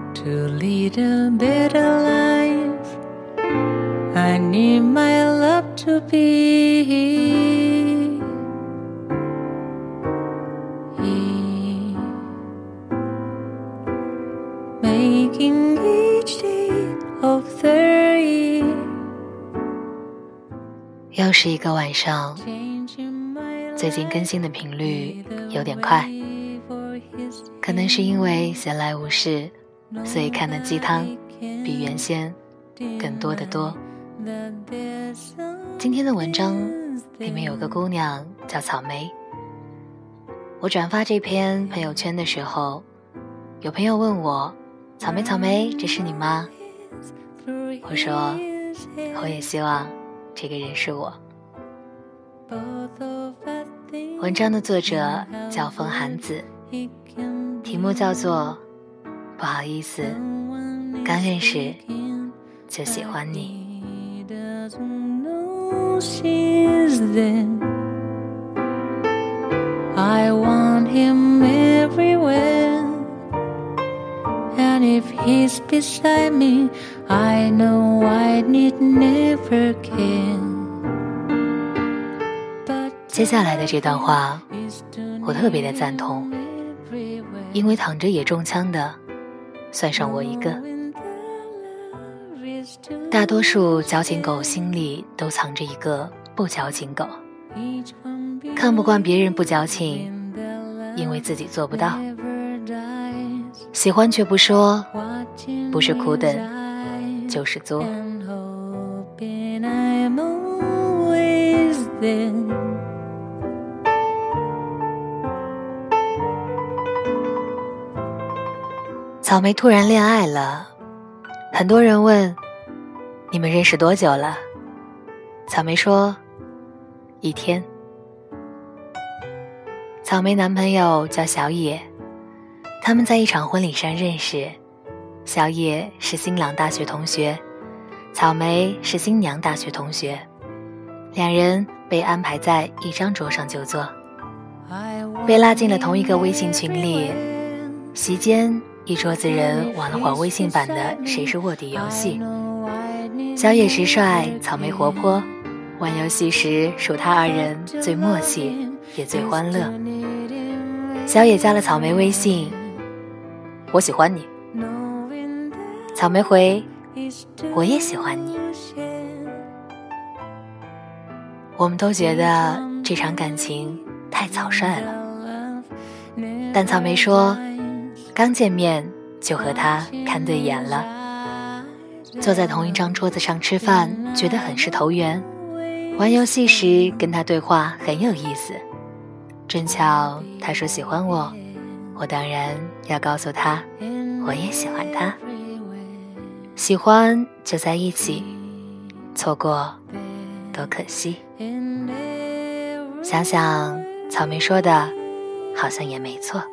to lead a better life. I need my love to be making each day of the year. 又是一个晚上，最近更新的频率有点快，可能是因为闲来无事，所以看的鸡汤比原先更多得多。今天的文章里面有个姑娘叫草莓，我转发这篇朋友圈的时候，有朋友问我，草莓草莓，这是你吗？我说我也希望这个人是我。文章的作者叫风寒子，题目叫做不好意思，刚认识就喜欢你。 I want him everywhere, and if he's beside me, I know I need never care. 接下来的这段话我特别的赞同，因为躺着也中枪的算上我一个。大多数矫情狗心里都藏着一个不矫情狗，看不惯别人不矫情，因为自己做不到，喜欢却不说，不是苦等就是作。草莓突然恋爱了，很多人问你们认识多久了？草莓说1天。草莓男朋友叫小野，他们在一场婚礼上认识，小野是新郎大学同学，草莓是新娘大学同学，两人被安排在一张桌上就坐，被拉进了同一个微信群里。席间一桌子人玩了会儿微信版的谁是卧底游戏，小野直率，草莓活泼，玩游戏时属他二人最默契也最欢乐。小野加了草莓微信，我喜欢你。草莓回，我也喜欢你。我们都觉得这场感情太草率了，但草莓说刚见面就和他看对眼了，坐在同一张桌子上吃饭觉得很是投缘，玩游戏时跟他对话很有意思，正巧他说喜欢我，我当然要告诉他我也喜欢他。喜欢就在一起，错过多可惜。想想草莓说的好像也没错。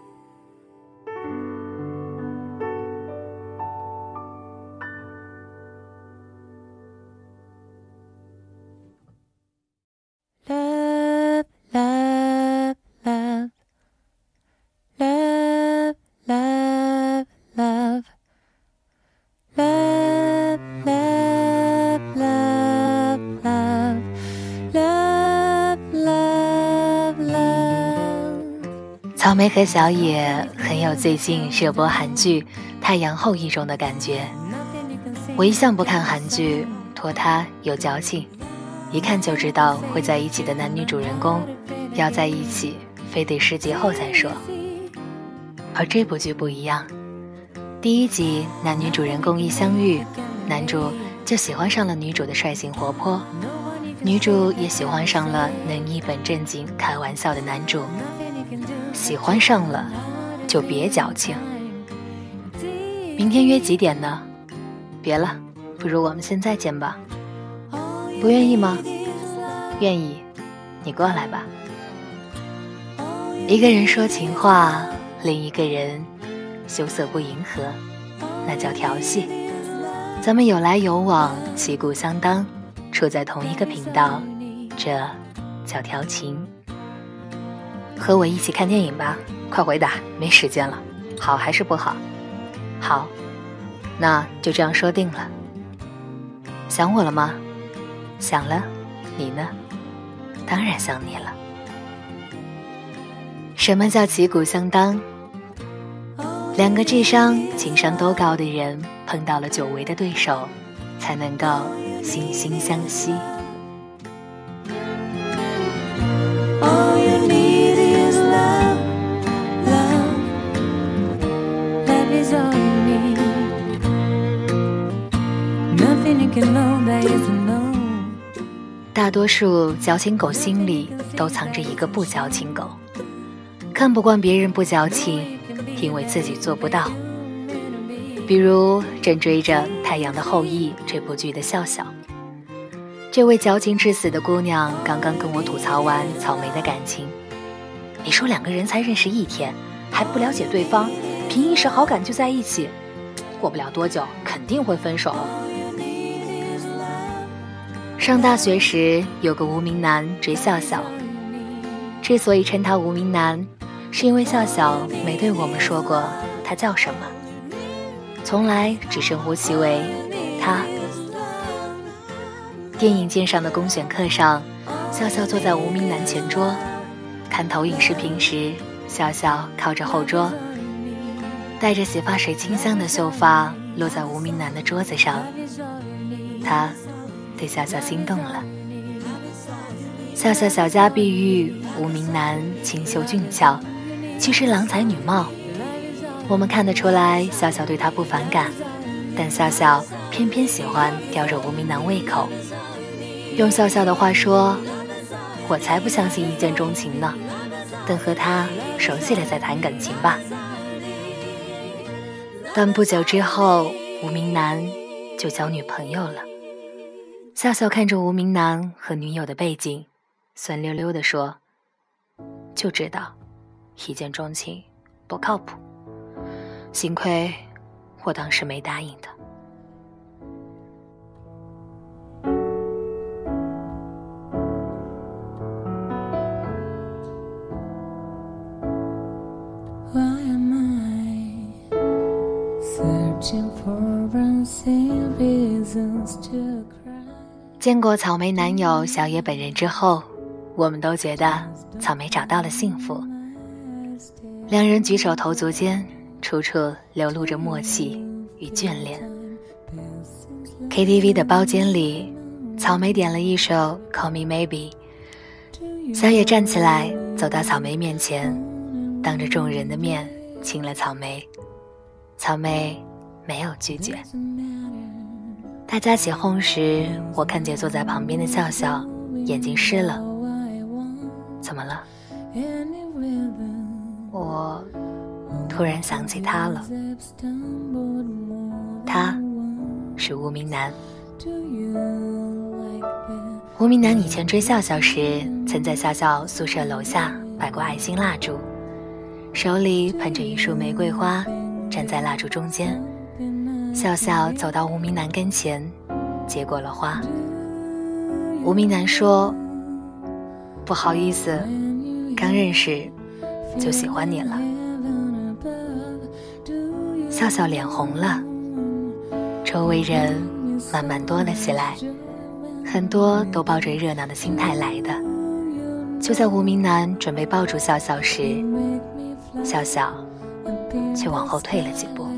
草莓和小野很有最近热播韩剧《太阳后裔》中的感觉。我一向不看韩剧，拖沓又矫情，一看就知道会在一起的男女主人公要在一起非得10集后再说。而这部剧不一样，第1集男女主人公一相遇，男主就喜欢上了女主的率性活泼，女主也喜欢上了能一本正经开玩笑的男主。喜欢上了就别矫情。明天约几点呢？别了，不如我们现在见吧。不愿意吗？愿意，你过来吧。一个人说情话，另一个人羞涩不迎合，那叫调戏。咱们有来有往，旗鼓相当，处在同一个频道，这叫调情。和我一起看电影吧，快回答，没时间了。好还是不好？ 好，那就这样说定了。想我了吗？想了，你呢？当然想你了。什么叫旗鼓相当？两个智商、情商都高的人碰到了久违的对手，才能够惺惺相惜。 All you need is love, love. Love is all you need. Nothing you can know that isn't known. 大多数矫情狗心里都藏着一个不矫情狗，看不惯别人不矫情，因为自己做不到。比如正追着《太阳的后裔》这部剧的笑笑，这位矫情至死的姑娘刚刚跟我吐槽完草莓的感情。你说两个人才认识1天，还不了解对方，凭一时好感就在一起，过不了多久肯定会分手。上大学时有个无名男追笑笑，之所以称他无名男，是因为笑笑没对我们说过他叫什么，从来只称呼其为他。电影鉴赏的公选课上，笑笑坐在无名男前桌，看投影视频时，笑笑靠着后桌，带着洗发水清香的秀发落在无名男的桌子上，他对笑笑心动了。笑笑小家碧玉，无名男清秀俊俏，其实郎才女貌。我们看得出来笑笑对他不反感，但笑笑偏偏喜欢吊着无名男胃口。用笑笑的话说，我才不相信一见钟情呢，等和他熟悉了再谈感情吧。但不久之后，无名男就交女朋友了。笑笑看着无名男和女友的背景，酸溜溜地说，就知道一见钟情不靠谱，幸亏我当时没答应他。 Why am I searching for unseen reasons to cry? 见过草莓男友小野本人之后，我们都觉得草莓找到了幸福。两人举手投足间，处处流露着默契与眷恋。KTV 的包间里，草莓点了一首 Call Me Maybe， 小野站起来走到草莓面前，当着众人的面亲了草莓。草莓没有拒绝。大家起哄时，我看见坐在旁边的笑笑眼睛湿了。怎么了？我突然想起他了。他是无名男。无名男以前追笑笑时，曾在笑笑宿舍楼下摆过爱心蜡烛，手里捧着一束玫瑰花，站在蜡烛中间。笑笑走到无名男跟前，接过了花。无名男说，不好意思，刚认识就喜欢你了。笑笑脸红了，周围人慢慢多了起来，很多都抱着热闹的心态来的。就在无名男准备抱住笑笑时，笑笑却往后退了几步。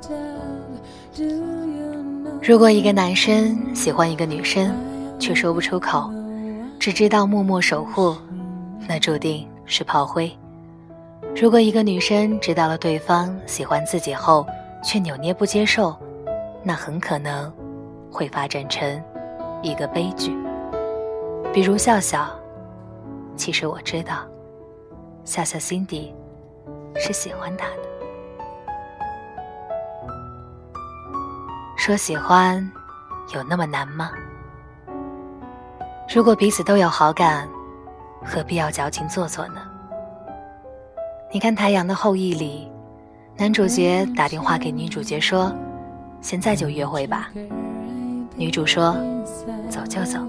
如果一个男生喜欢一个女生，却说不出口，只知道默默守护，那注定是炮灰。如果一个女生知道了对方喜欢自己后，却扭捏不接受，那很可能会发展成一个悲剧。比如笑笑，其实我知道，笑笑心底是喜欢他的。说喜欢有那么难吗？如果彼此都有好感，何必要矫情做作呢？你看《太阳的后裔》里，男主角打电话给女主角说，现在就约会吧。女主说，走就走。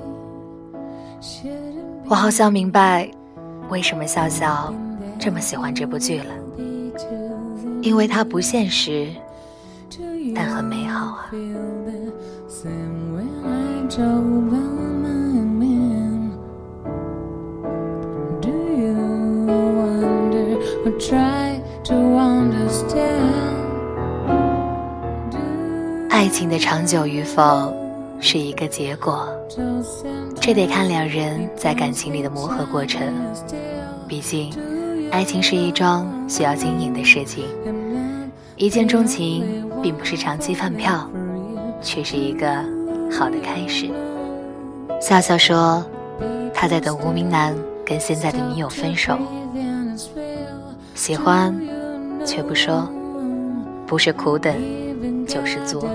我好像明白为什么笑笑这么喜欢这部剧了，因为它不现实， 但很美好啊。爱情的长久与否是一个结果，这得看两人在感情里的磨合过程。毕竟爱情是一桩需要经营的事情，一见钟情并不是长期饭票，却是一个好的开始。笑笑说他在等无名男跟现在的女友分手，喜欢却不说，不是苦等就是作。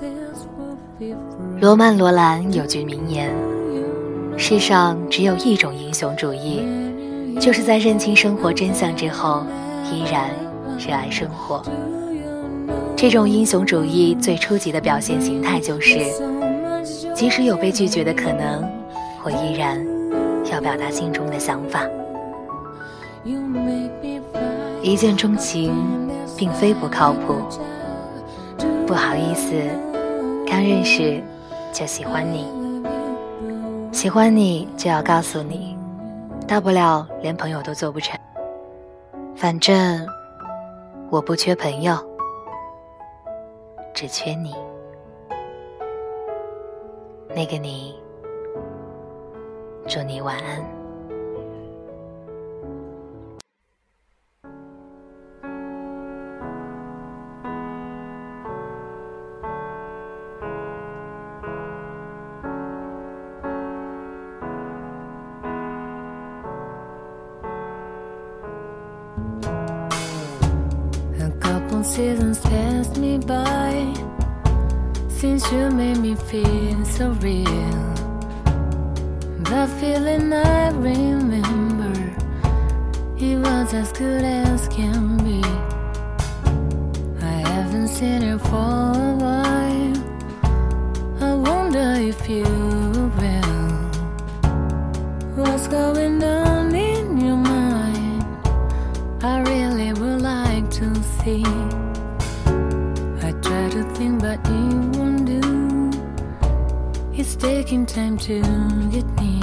罗曼·罗兰有句名言，世上只有一种英雄主义，就是在认清生活真相之后依然热爱生活。这种英雄主义最初级的表现形态就是，即使有被拒绝的可能，我依然要表达心中的想法。一见钟情并非不靠谱，不好意思，刚认识就喜欢你，喜欢你就要告诉你，大不了连朋友都做不成，反正我不缺朋友，只缺你。那个你，祝你晚安。 Seasons passed me by since you made me feel so real. The feeling I remember, it was as good as can be. I haven't seen you for a while, I wonder if you will. What's going on in your mind? I really would like to see. I try to think but it won't do. It's taking time to get me.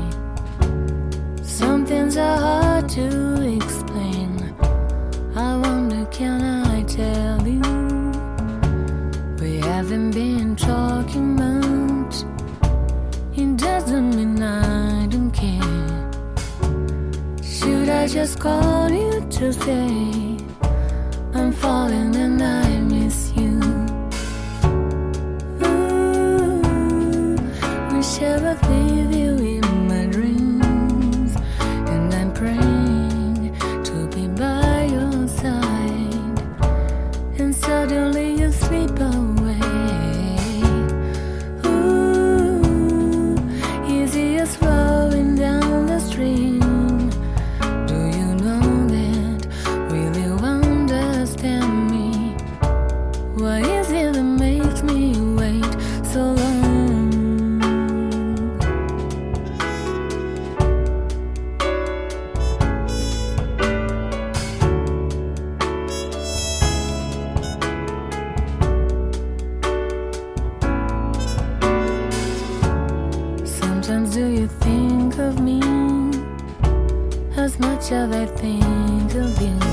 Some things are hard to explain. I wonder, can I tell you? We haven't been talking much. It doesn't mean I don't care. Should I just call you to say I'm falling and I miss you? Ooh, wish I would leave you in my dreams, and I'm praying to be by your side, and suddenly you slip away. Ooh, easy as flowing down the stream. Do you know that? Will you understand me? What is it that makes me wait so long? Sometimes do you think of me as much as I think of you?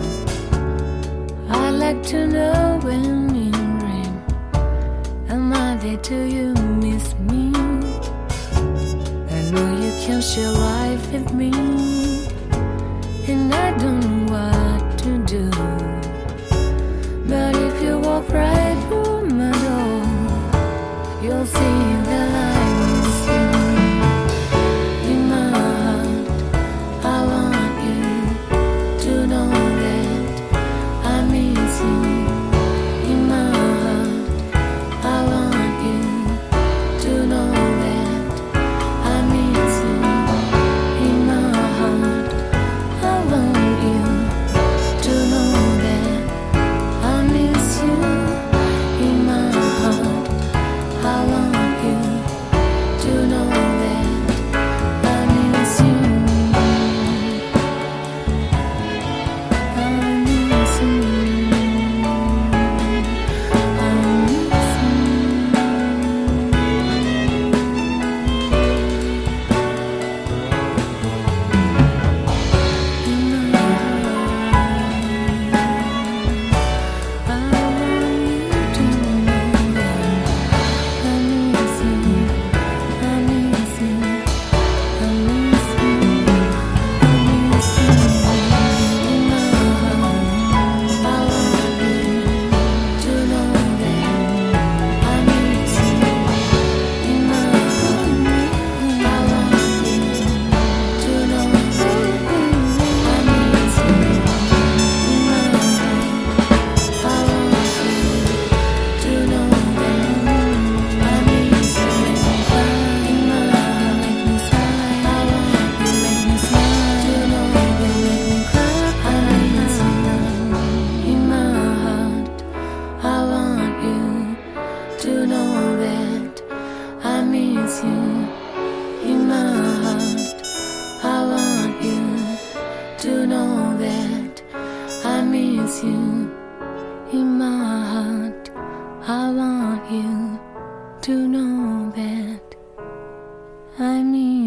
I'd like to know when you dream, am I there till you miss me? I know you can share life with me, and I don't know what to do. But if you walk right through my door, you'll see that I miss you. In my heart, I want you to know that I miss you. In my heart, I want you to know that I miss you. In my heart, I want you to know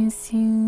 miss you.